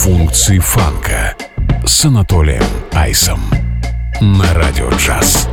Функции фанка с Анатолием Айсом на Радио Джаз.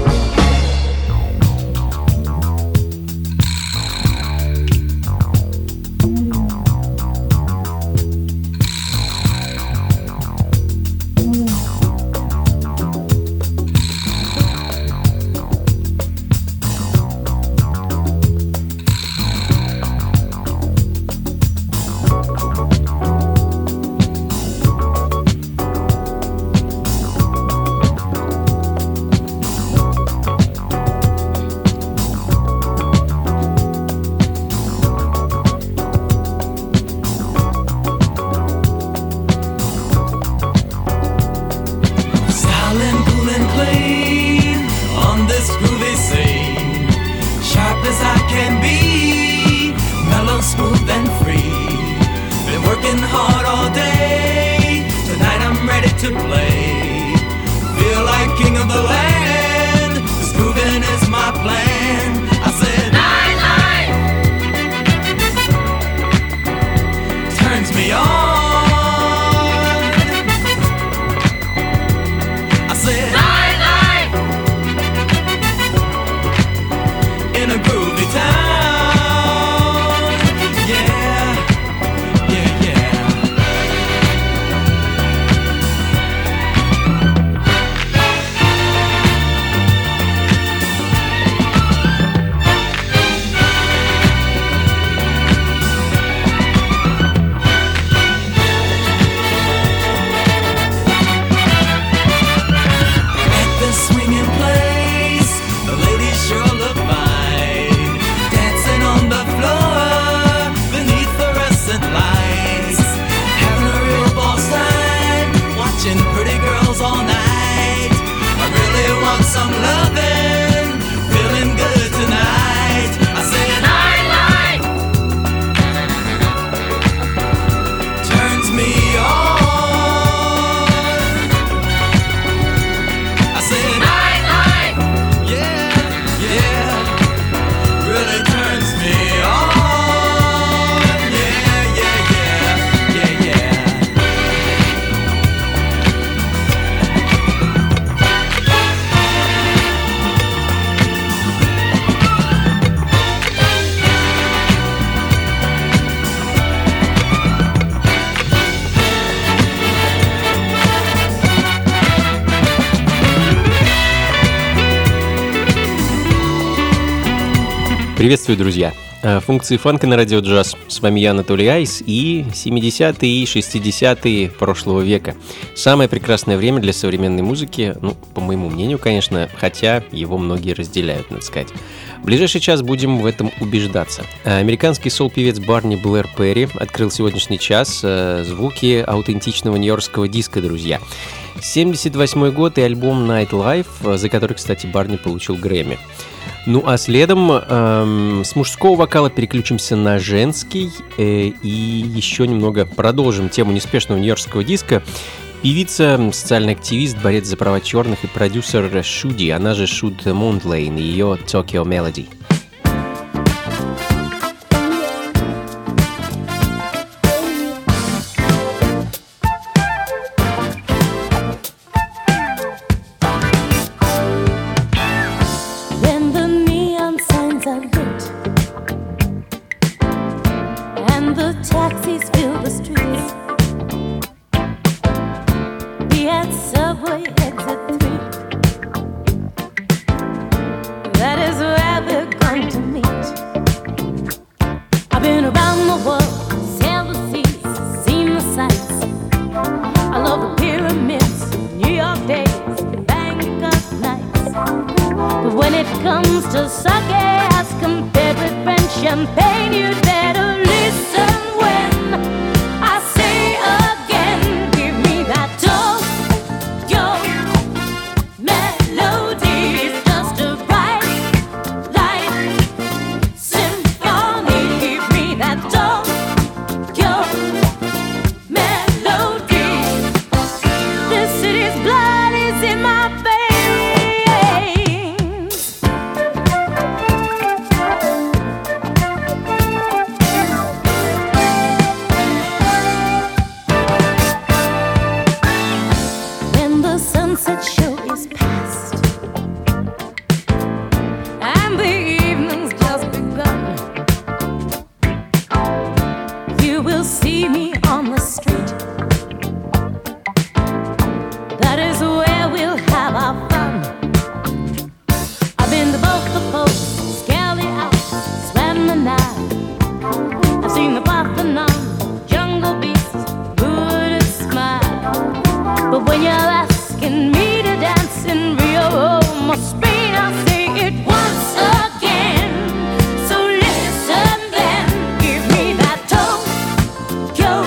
Приветствую, друзья! Функции фанка на Радио Джаз. С вами я, Анатолий Айс, и 70-е и 60-е прошлого века. Самое прекрасное время для современной музыки, по моему мнению, конечно, хотя его многие разделяют, надо сказать. В ближайший час будем в этом убеждаться. Американский сол-певец Барни Блэр Перри открыл сегодняшний час звуки аутентичного нью-йоркского диска, друзья. 78-й год и альбом Night Life, за который, кстати, Барни получил Грэмми. Ну а следом с мужского вокала переключимся на женский и еще немного продолжим тему неспешного нью-йоркского диска. Певица, социальный активист, борец за права черных и продюсер Шуди, она же Шуд Мондлейн и ее Tokyo Melody. Subway exit 3. That is where the will see me on the street. That is where we'll have our fun. I've been to both the posts, scaled the Alps, swam the Nile. I've seen the Parthenon, jungle beasts, Buddhist smile. But when you're asking me to dance in Rio, Roma, Spain, I'll say it once again. So listen then, give me that Tokyo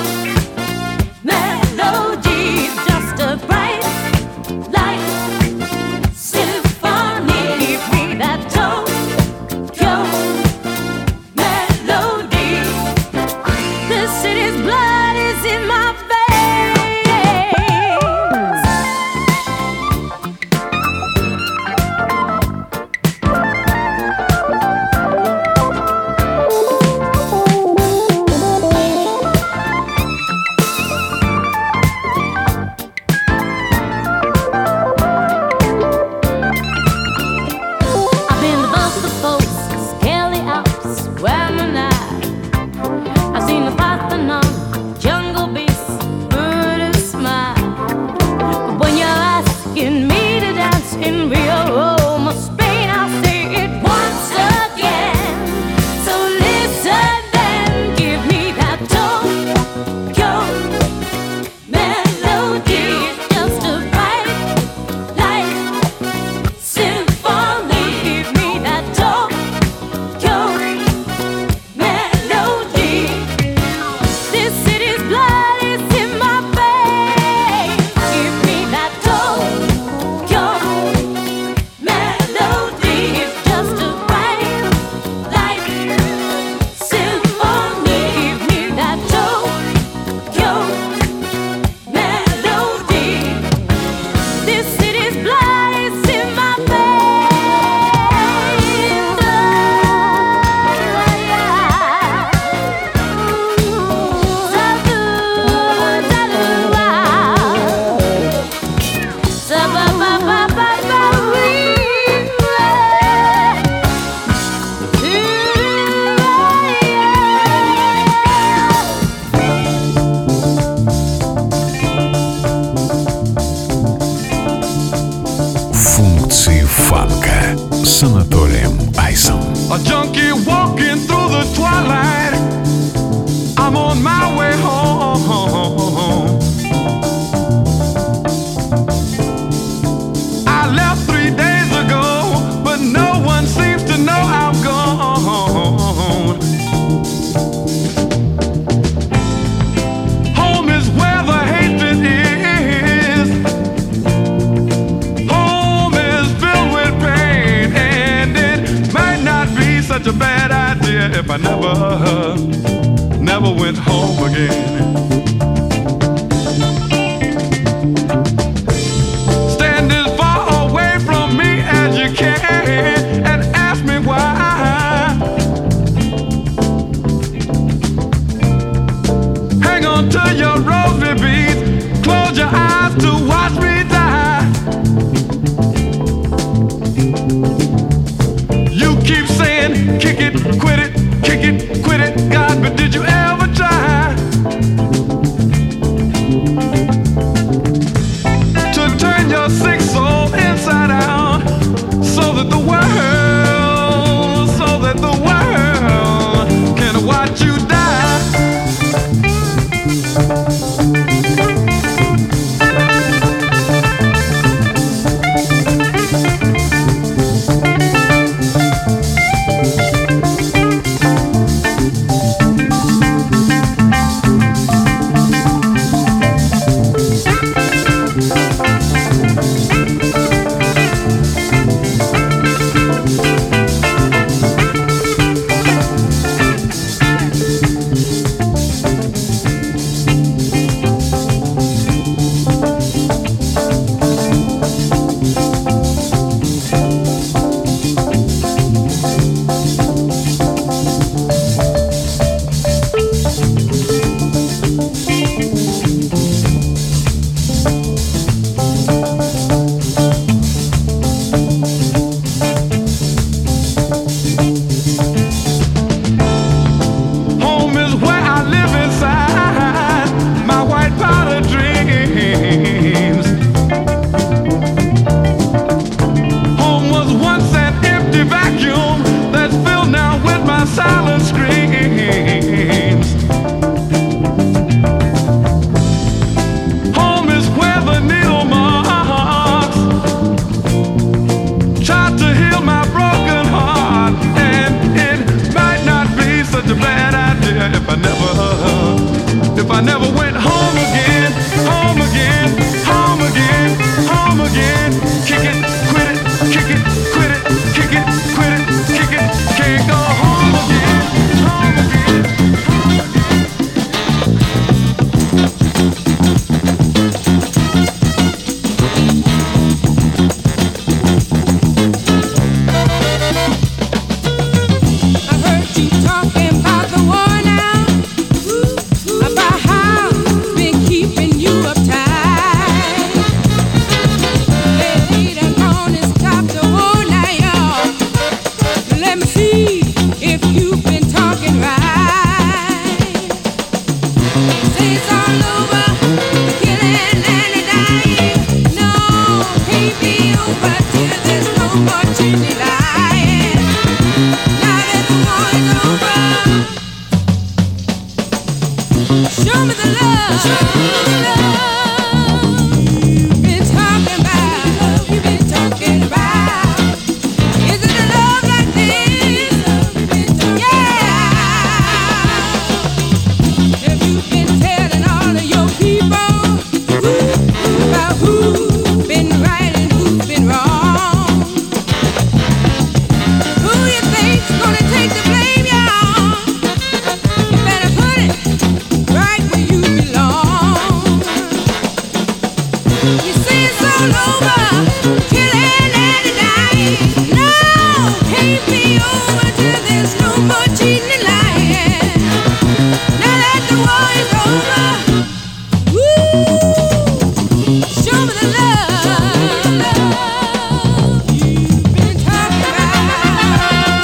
melody, just a bright light symphony. Give me that Tokyo melody. The city's blood is in my veins. I've been to both the coasts, scaled the Alps, swam the Nile. I've seen the Parthenon, jungle beasts, Buddhist smile. But when you're asking me to dance in Rio, Roma, Spain, I'll say it once again. So listen then, give me that Tokyo melody. It's just a bright light symphony. Give me that Tokyo melody. This city's blood is in my veins. Give me that Tokyo melody. It's just a bright light symphony. Give me that Tokyo melody. This city's blood is in my Функции фанка с Анатолием Айсом. A junkie walking through the twilight. I'm on my way home. I left 3 days ago, but no one seems to know I'm gone. Home is where the hatred is. Home is filled with pain, and it might not be such a bad idea if I never went home again. Stand as far away from me as you can and ask me why. Hang on to your rosary beads, close your eyes to watch me die. You keep saying, kick it, quit it, kick it, quit it, God, but did you ever try to turn your sick soul inside out so that the world can watch you die? never went home again, home again, home again, home again. Kick it, quit it, kick it, quit it, kick it, quit it, kick it, can't go home again, home again, home again. I heard you talking about the war now, about how it's been keeping you uptight. They done gone and stopped the war now, y'all. Let me see if you've been talking right. Say it's all over, the killing and the dying. No, can't be over till there's no more changing lying. Now that the war is over, show me the love you've been talking about. You've been talking about. Is it a love like this? Yeah. Have you been telling all of your people about who's been right and who's been wrong? Who you think's gonna take the blame, y'all? You better put it right where you belong. You say it's all over, killing and dying. No, can't be over till there's no more cheating and lying. Now that the war is over, woo, show me the love you've been talking about.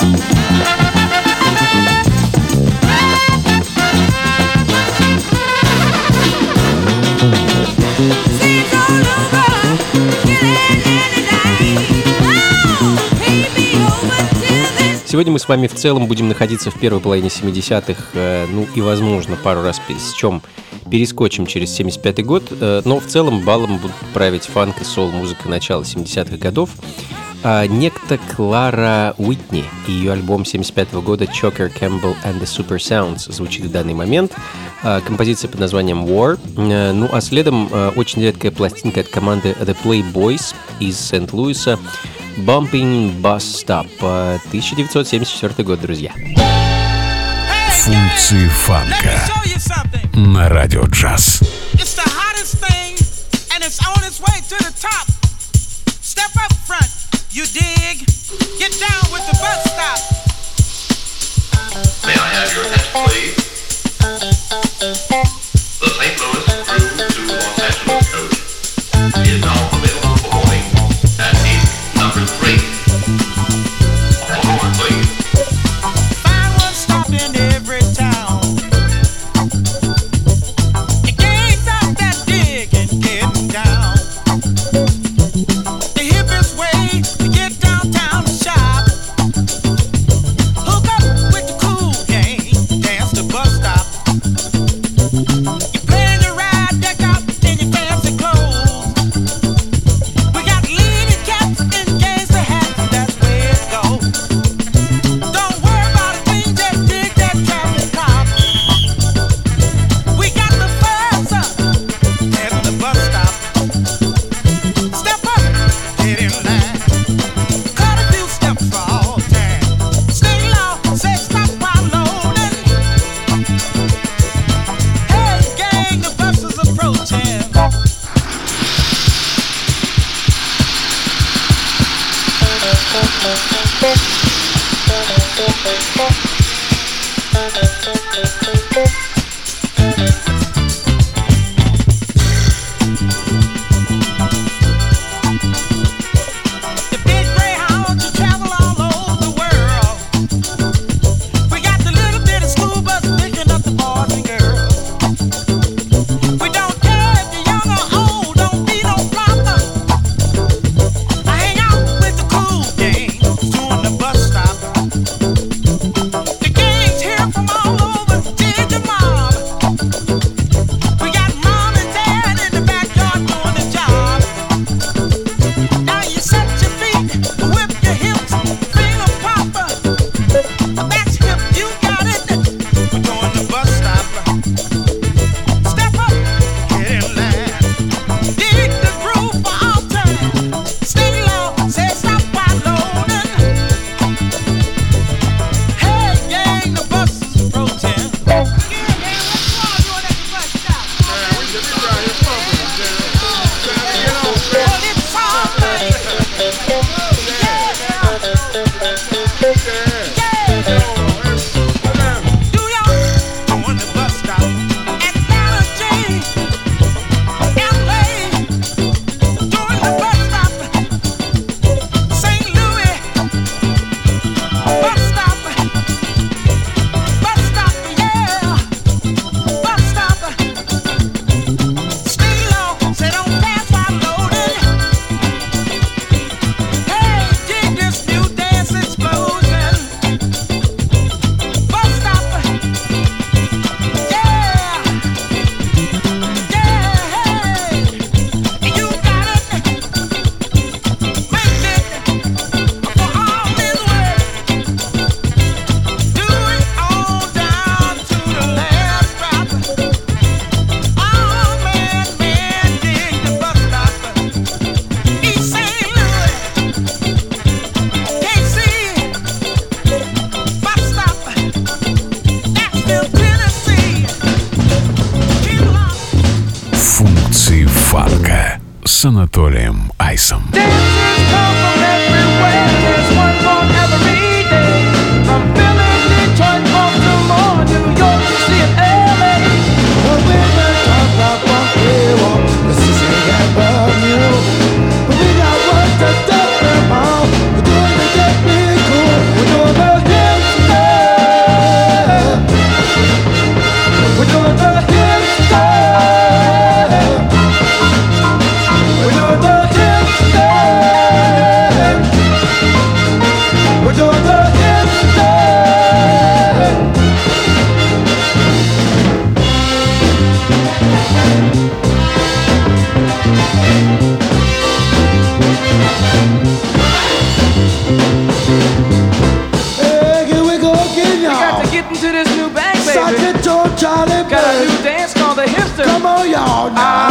Say it's all over, killing and dying. No, can't be over till there's. Сегодня мы с вами в целом будем находиться в первой половине 70-х, ну и, возможно, пару раз перескочим через 75-й год, но в целом балом будут править фанк и сол-музыка начала 70-х годов. Некто Клара Уитни и ее альбом 75-го года «Choker Campbell and the Super Sounds» звучит в данный момент. Композиция под названием «War». Ну а следом очень редкая пластинка от команды The Playboys из Сент-Луиса «Bumping Bus Stop», 1974 год, друзья. Функции фанка на радио джаз. It's the hottest thing, and it's on its way to the top. Step up front, you dig? Get down with the bus stop. May I have your attention, please? The St. Louis through to Los Angeles coach is now available for boarding at gate number 3. One more, please. Find one stop in every town. You can't stop that dig and getting down. The hippest way to get downtown to shop. Hook up with the cool gang, dance to bus stop. You plan your ride. с Анатолием Айсом. Charlie, got a new dance called the hipster. Come on, y'all.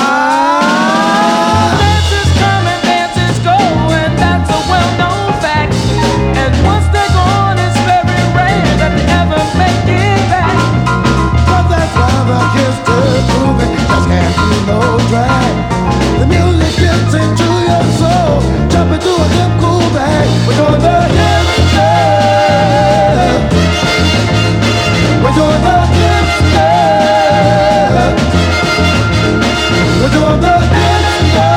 Dances come and dances go, and that's a well-known fact. And once they're gone, it's very rare that they ever make it back. But that's why the hipster grooving just can't be no drag. The music gets into your soul, jump into a hip cool bag. We're doing the hipster. We're doing the hipster. We're doing the hipster.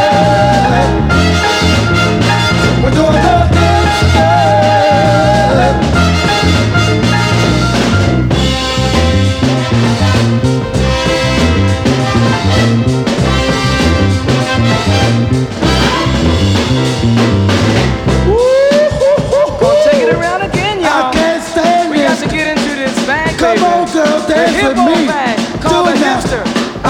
We're doing the hipster. Gonna take it around again, y'all. I can't stand we got to get into this bag, baby. Come on, girl, dance with me. Bag called the hipster.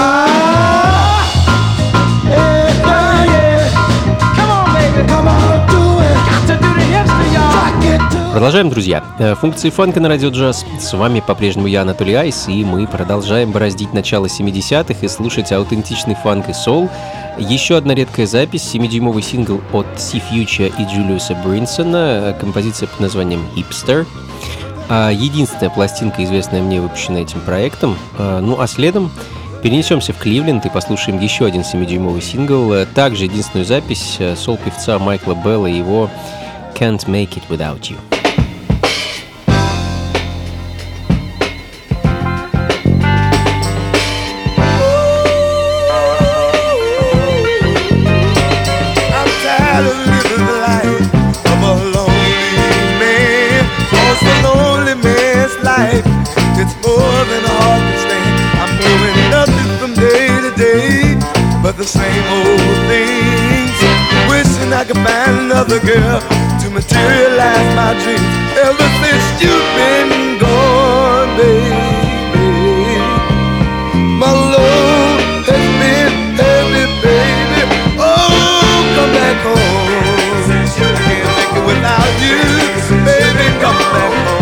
Продолжаем, друзья. Функции фанка на радио джаз. С вами по-прежнему я, Анатолий Айс, и мы продолжаем бороздить начало 70-х и слушать аутентичный фанк и соул. Еще одна редкая запись, 7-дюймовый сингл от Си Фьюча и Джулиуса Бринсона, композиция под названием «Hipster». Единственная пластинка, известная мне, выпущенная этим проектом. Ну а следом перенесемся в Кливленд и послушаем еще один 7-дюймовый сингл, также единственную запись соул-певца Майкла Белла и его «Can't Make It Without You». It's more than hard to stand. I'm doing nothing from day to day but the same old things. Wishing I could find another girl to materialize my dreams. Ever since you've been gone, baby, my love has been heavy, baby. Oh, come back home. I can't make it without you, baby. Come back home.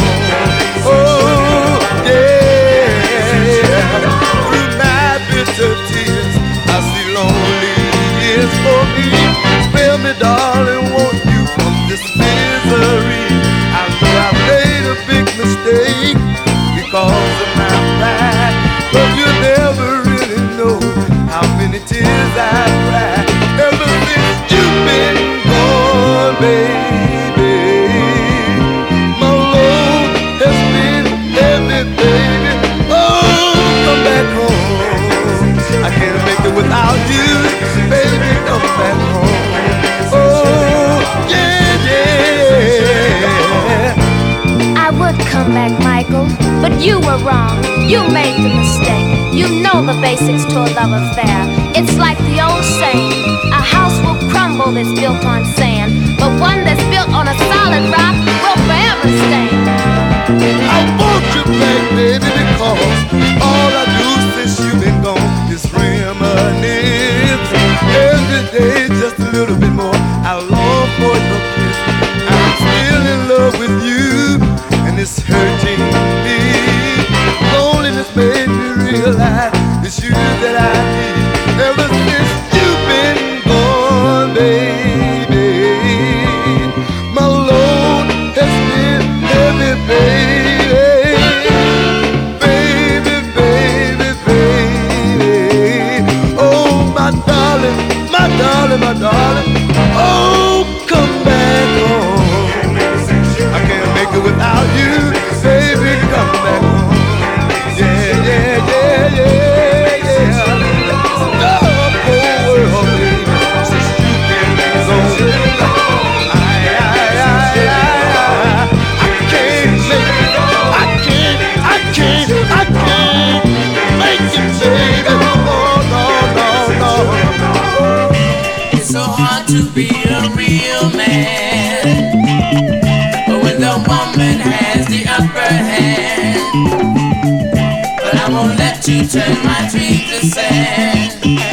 For me, spare me, darling, won't you from this misery? I know I made a big mistake because of my pride, but you never really know how many tears I cried ever since you've been gone, baby. My load has been heavy, baby. Oh, come back home. I can't make it without you, baby. Come back home. Oh, yeah, yeah. I would come back, Michael, but you were wrong. You made the mistake. You know the basics to a love affair. It's like the old saying, a house will crumble that's built on sand, but one that's built on a solid rock will forever stand. I want you back, baby, because all I do since you've been gone is reminisce. Every day just a little bit more, I long for your kiss. I'm still in love with you, and it's hurting me. Loneliness made me realize it's you that I need. Ever since you've been gone, baby, my load has been heavy, baby. Baby, baby. be a real man. But when the woman has the upper hand, but I won't let you turn my dreams to sand.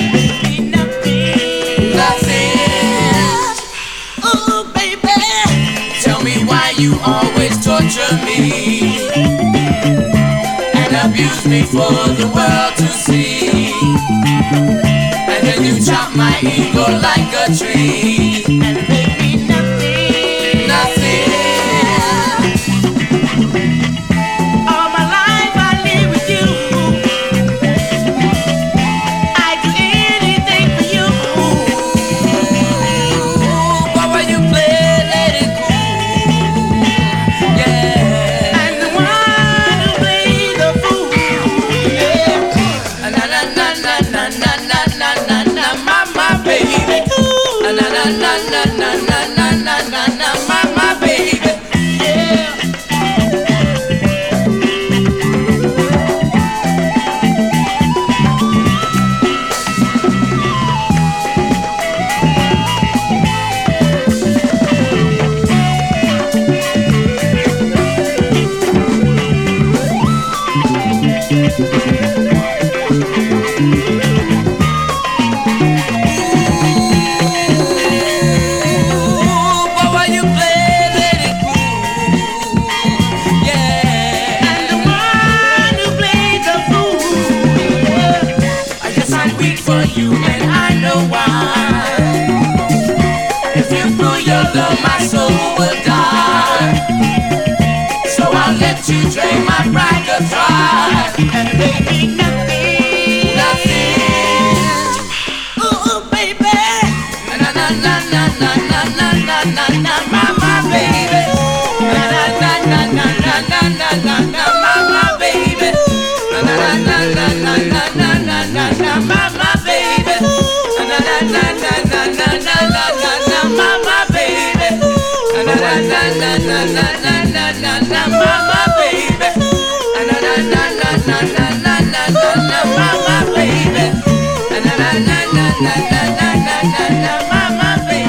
Ooh, baby, tell me why you always torture me and abuse me for the world to see. And then you chop my ego like a tree and make me nothing, nothing. All my life I live with you. I'd do anything for you. But when you play, let it cool. Yeah, I'm the one who plays the fool. Yeah, na na na na na na na na na, mama baby. Na na na na na na na na na na, mama baby. Yeah. But while you play, let it cool. Yeah, I'm the one who plays the fool. I guess I'm weak for you, and I know why. If you pull your love, my soul will die. So I'll let you drain my pride to try and make me nothing, nothing. Ooh, baby. Na na na na na na na na na na, mama baby. Na na na na na na na na na, mama baby. Na na na na na na na na na na, mama baby. Na na na na na na na na na na, mama baby. Na na na na na na na na na na, mama baby. Na na na na na na na na na na, mama baby. Na na na na na na na na na na, mama baby.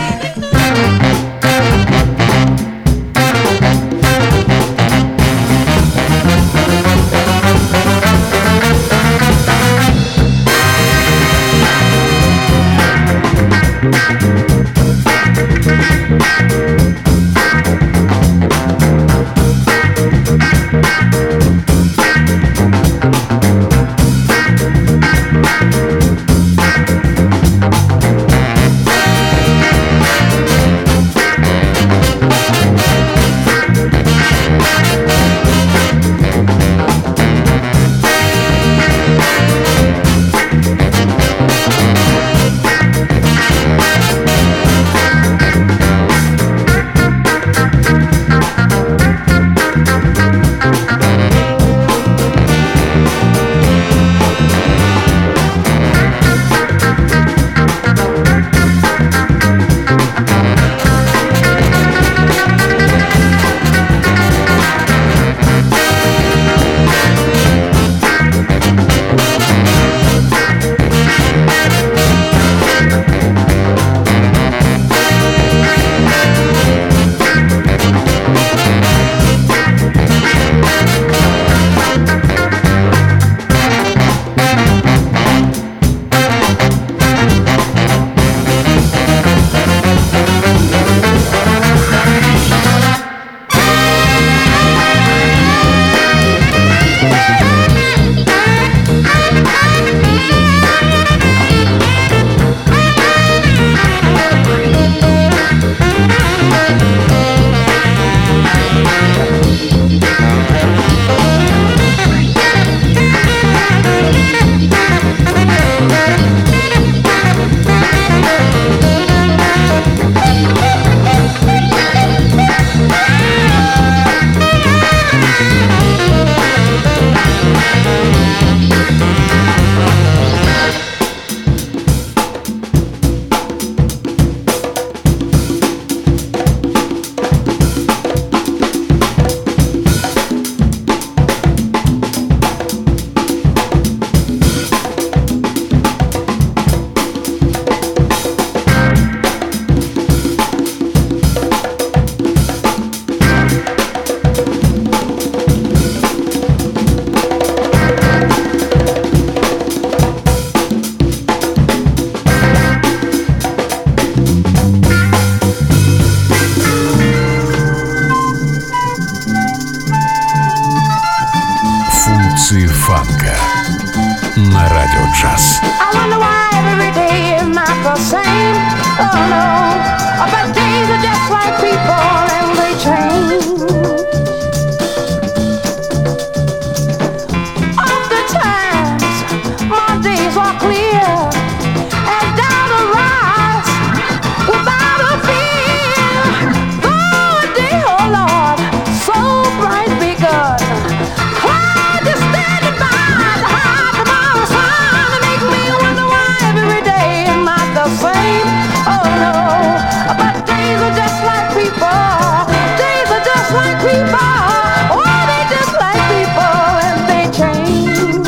фанка на Радио Джаз. I wonder why every day is not the same. Oh no, but days are just like people and they change. Oftentimes my days are clear and down the rise without a fear. Though a day, oh Lord, so bright begun. Cloud just standing by to hide tomorrow's sun and make me wonder why every day is not the same. Oh no, but days are just like people. Days are just like people. Oh, they just like people and they change.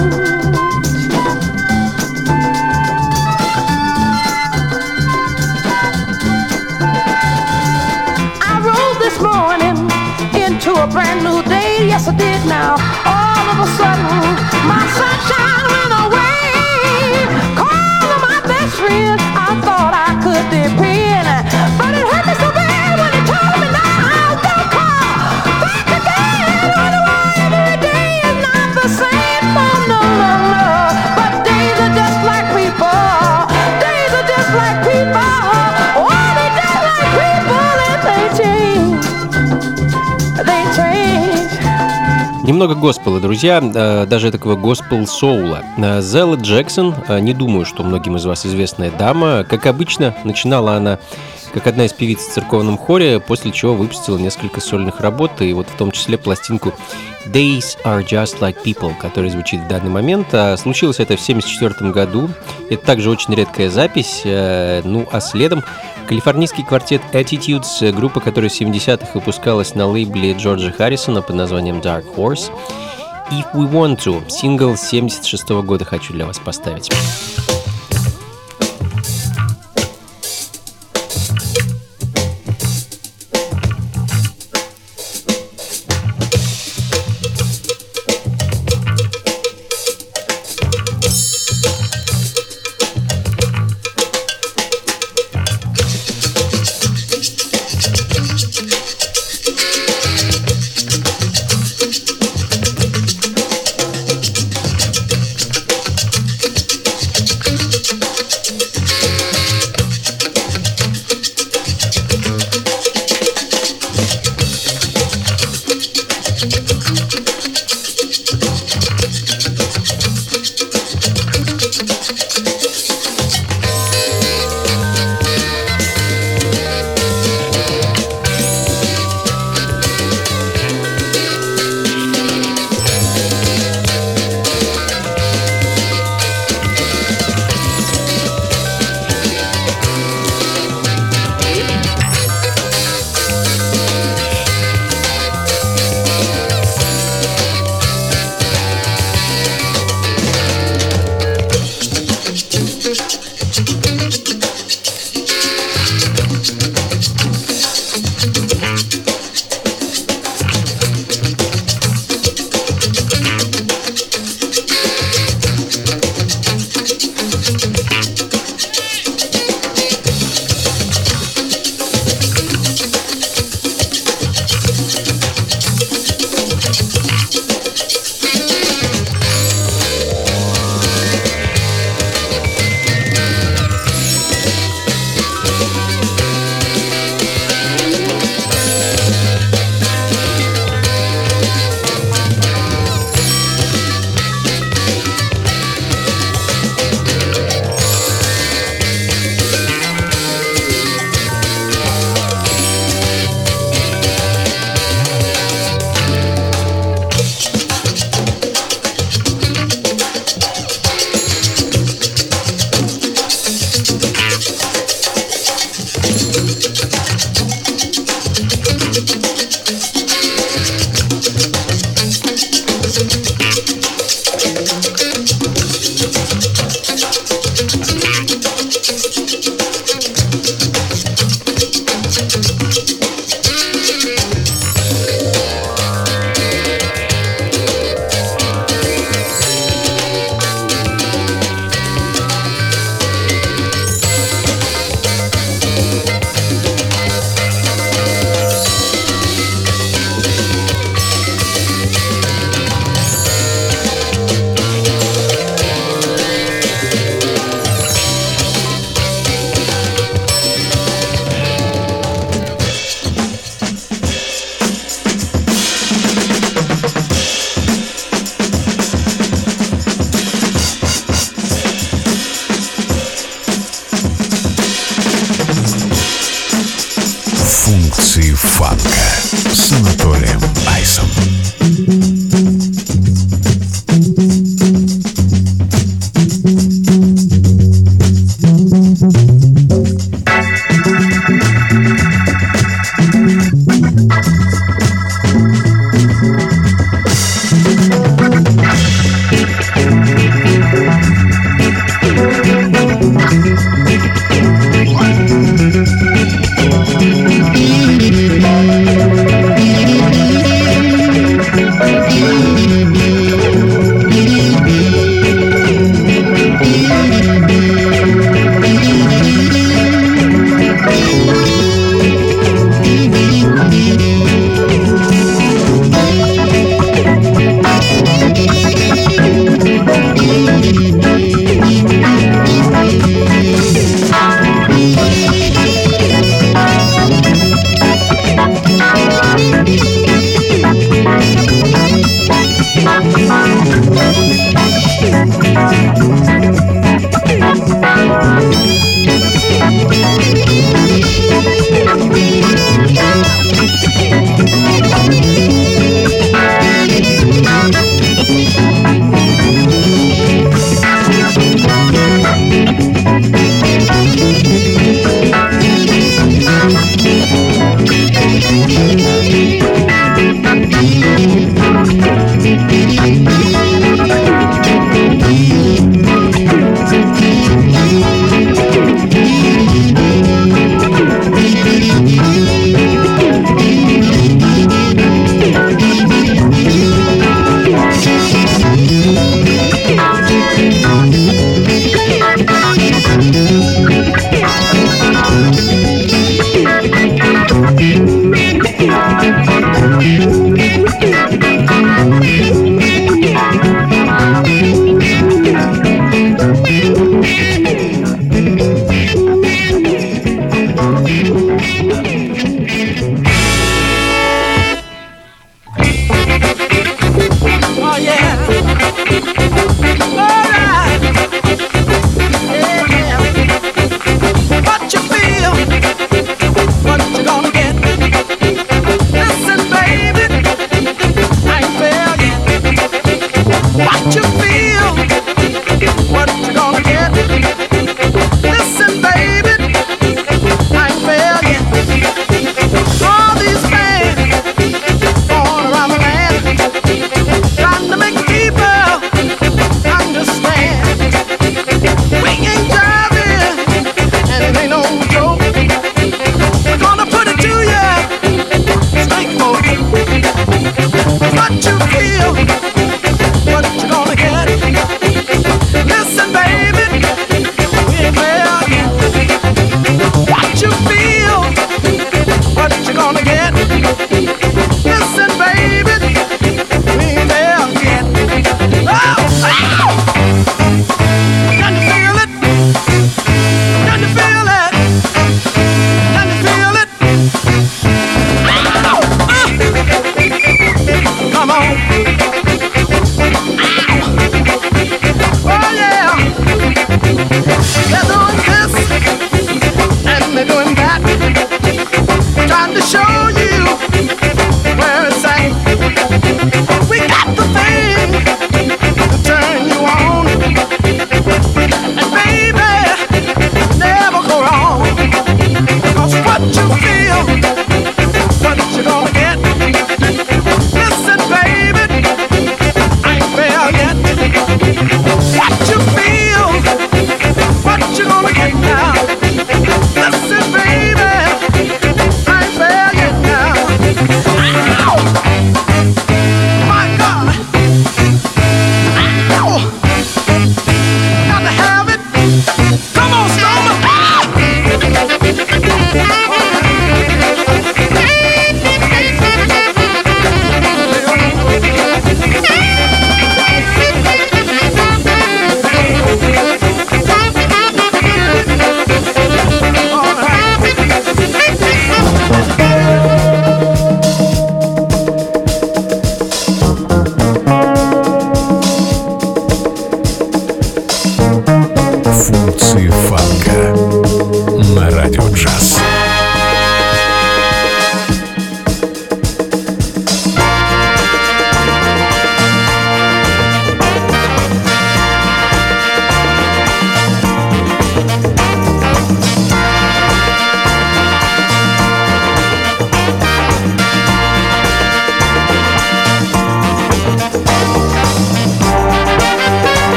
I rose this morning into a brand new day. Yes, I did now. All of a sudden, my sunshine went away. Calling my best friend, I thought I could depend. But it hurt me so bad when he told me now. Don't call back again. Wonder why every day is not the same. Oh, no, no, no. But days are just like people. Days are just like people. Oh, they just like people and they change. They change. Немного госпела, друзья, даже такого госпел-соула. Зелла Джексон, не думаю, что многим из вас известная дама. Как обычно, начинала она как одна из певиц в церковном хоре, после чего выпустила несколько сольных работ, и вот в том числе пластинку Days Are Just Like People, которая звучит в данный момент. Случилось это в 1974 году. Это также очень редкая запись. Ну а следом калифорнийский квартет Attitudes, группа, которая в 70-х выпускалась на лейбле Джорджа Харрисона под названием Dark Horse. If We Want To, сингл 76 года хочу для вас поставить.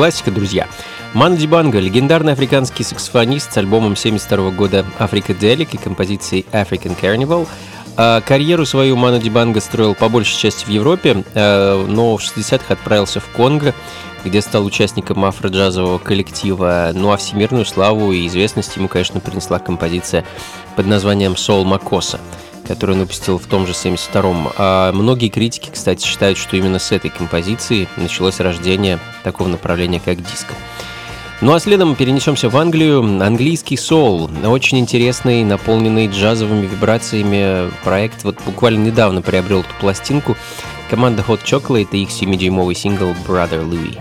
классика, друзья. Ману Дибанго — легендарный африканский саксофонист с альбомом 1972 года «Африкаделик» и композицией «African Carnival». Карьеру свою Ману Дибанго строил по большей части в Европе, но в 60-х отправился в Конго, где стал участником афро-джазового коллектива. Ну а всемирную славу и известность ему, конечно, принесла композиция под названием «Soul Makossa», которую он выпустил в том же 72-м. Многие критики, кстати, считают, что именно с этой композиции началось рождение такого направления, как диско. Ну а следом мы перенесемся в Англию. Английский соул. Очень интересный, наполненный джазовыми вибрациями проект. Вот буквально недавно приобрел эту пластинку. Команда Hot Chocolate и их 7-дюймовый сингл «Brother Louie».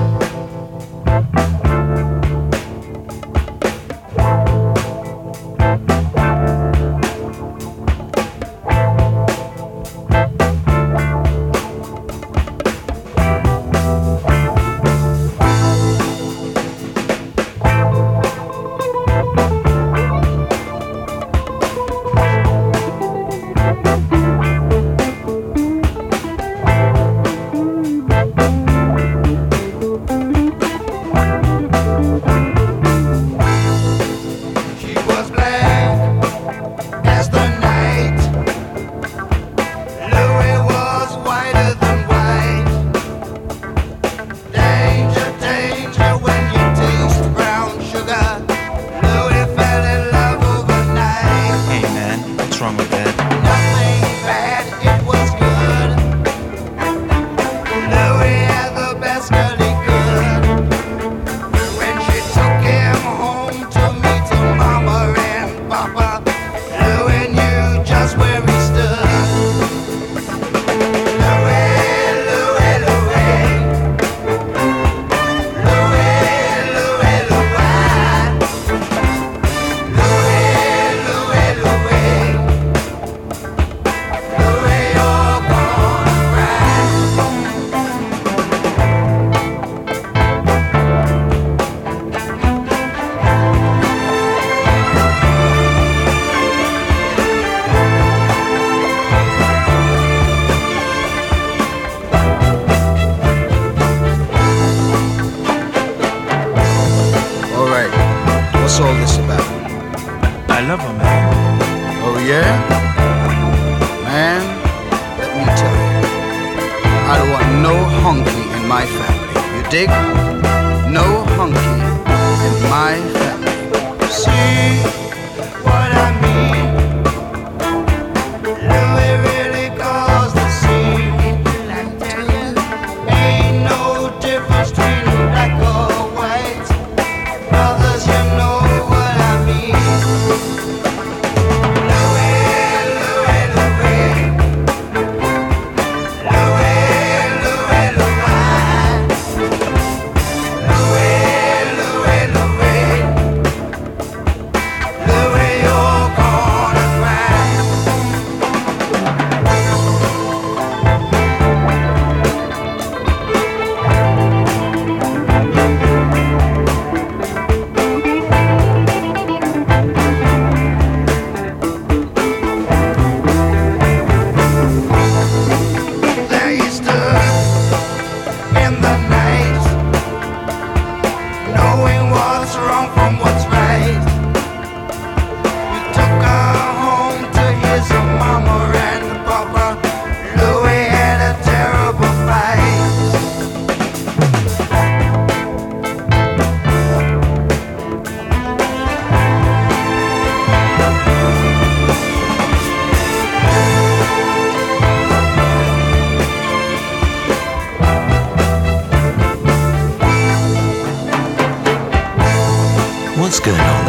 What's going on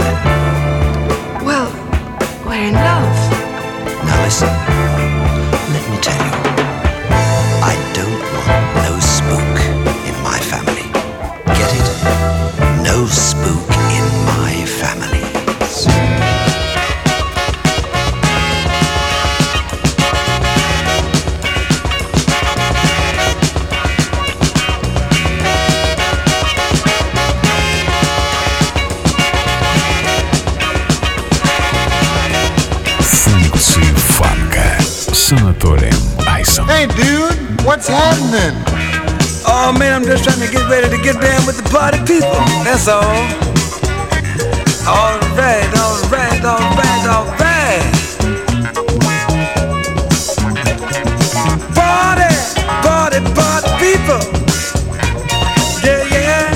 then? Well, we're in love. Now listen, let me tell you, I don't want no spook in my family. Get it? No spook in my family. С Анатолием Айсом. Hey dude, what's happening? Oh man, I'm just trying to get ready to get down with the party people. That's all. All right, all right, all right, all right. Party, party, party people. Yeah, yeah.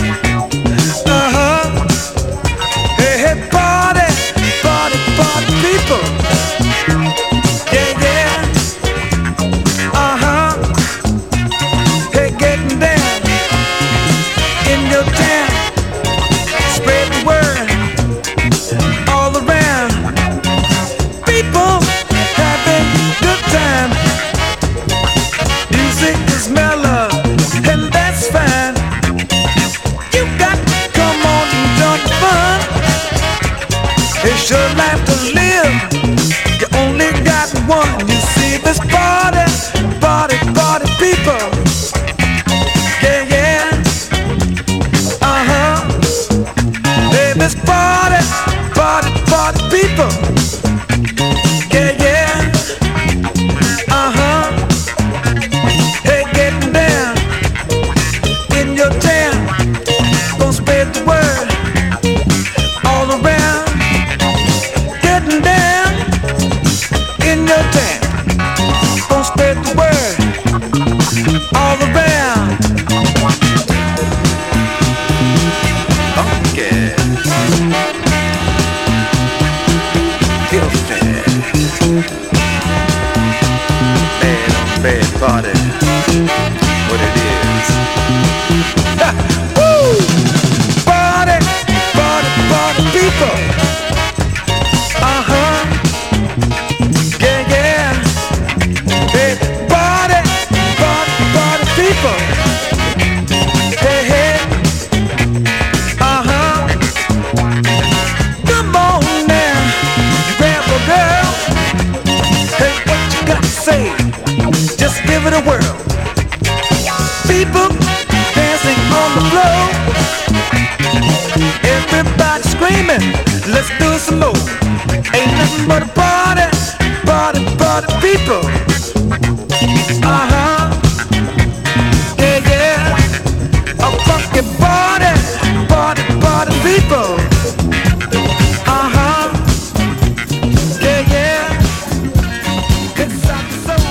Hey, hey, party, party, party people. Yeah, yeah. Hey, getting down in your town. Spread the word all around. People having good time. Music is mellow, and that's fine. You got to come on and join the fun. It's your life to live. You only got one. You see this party, party, party people. Yeah, yeah. Hey, this party, party, party people. Yeah, yeah. Hey, getting down in your town. Gonna spread the word all around. Getting down in your town. Gonna spread the word all around. Okay. Feel bad. Bad party. What it is. Ha! Woo! Party, party, party people. Yeah, yeah. Hey, party, party, party people. Hey, hey. Come on now, you grab a girl. Hey, what you got to say? Just give it a whirl. People dancing on the floor. Everybody screaming, let's do it some more. Ain't nothing but a party, party, party people. Yeah, yeah. A funky party, party, party people. Yeah, yeah. It's our soul.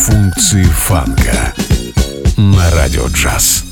Функции фанка на Радио Джаз.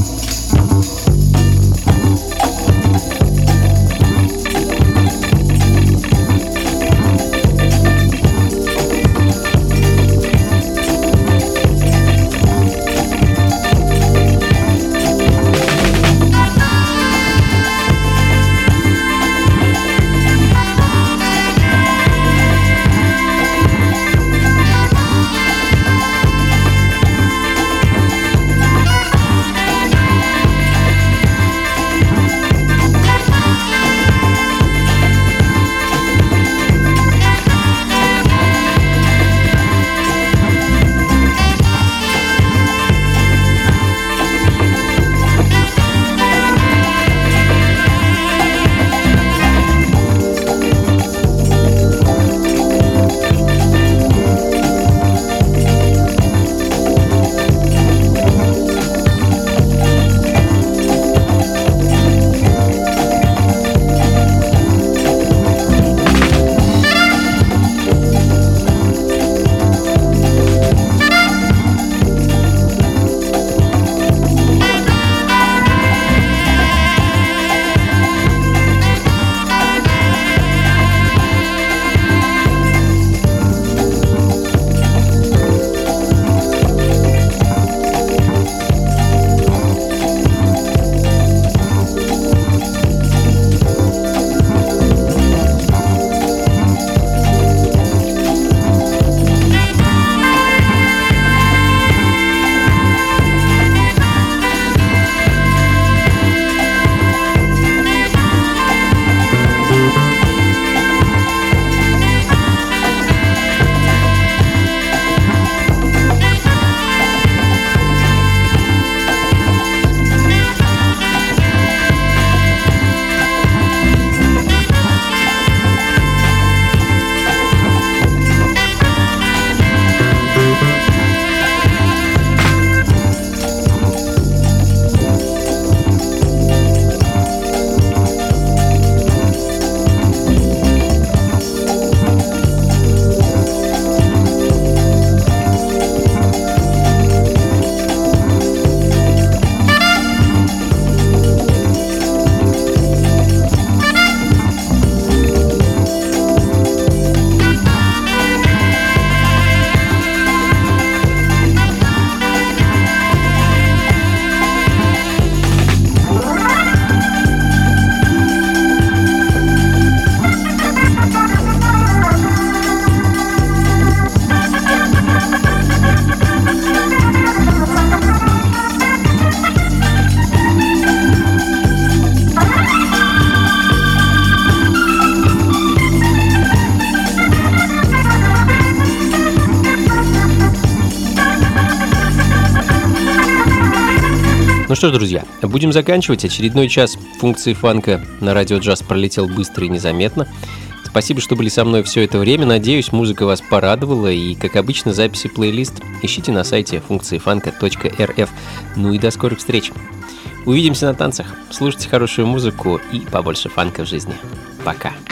Ну что ж, друзья, будем заканчивать. Очередной час функции фанка на Радио Джаз пролетел быстро и незаметно. Спасибо, что были со мной все это время. Надеюсь, музыка вас порадовала. И, как обычно, записи плейлист ищите на сайте функциифанка.рф. Ну и до скорых встреч. Увидимся на танцах. Слушайте хорошую музыку и побольше фанка в жизни. Пока.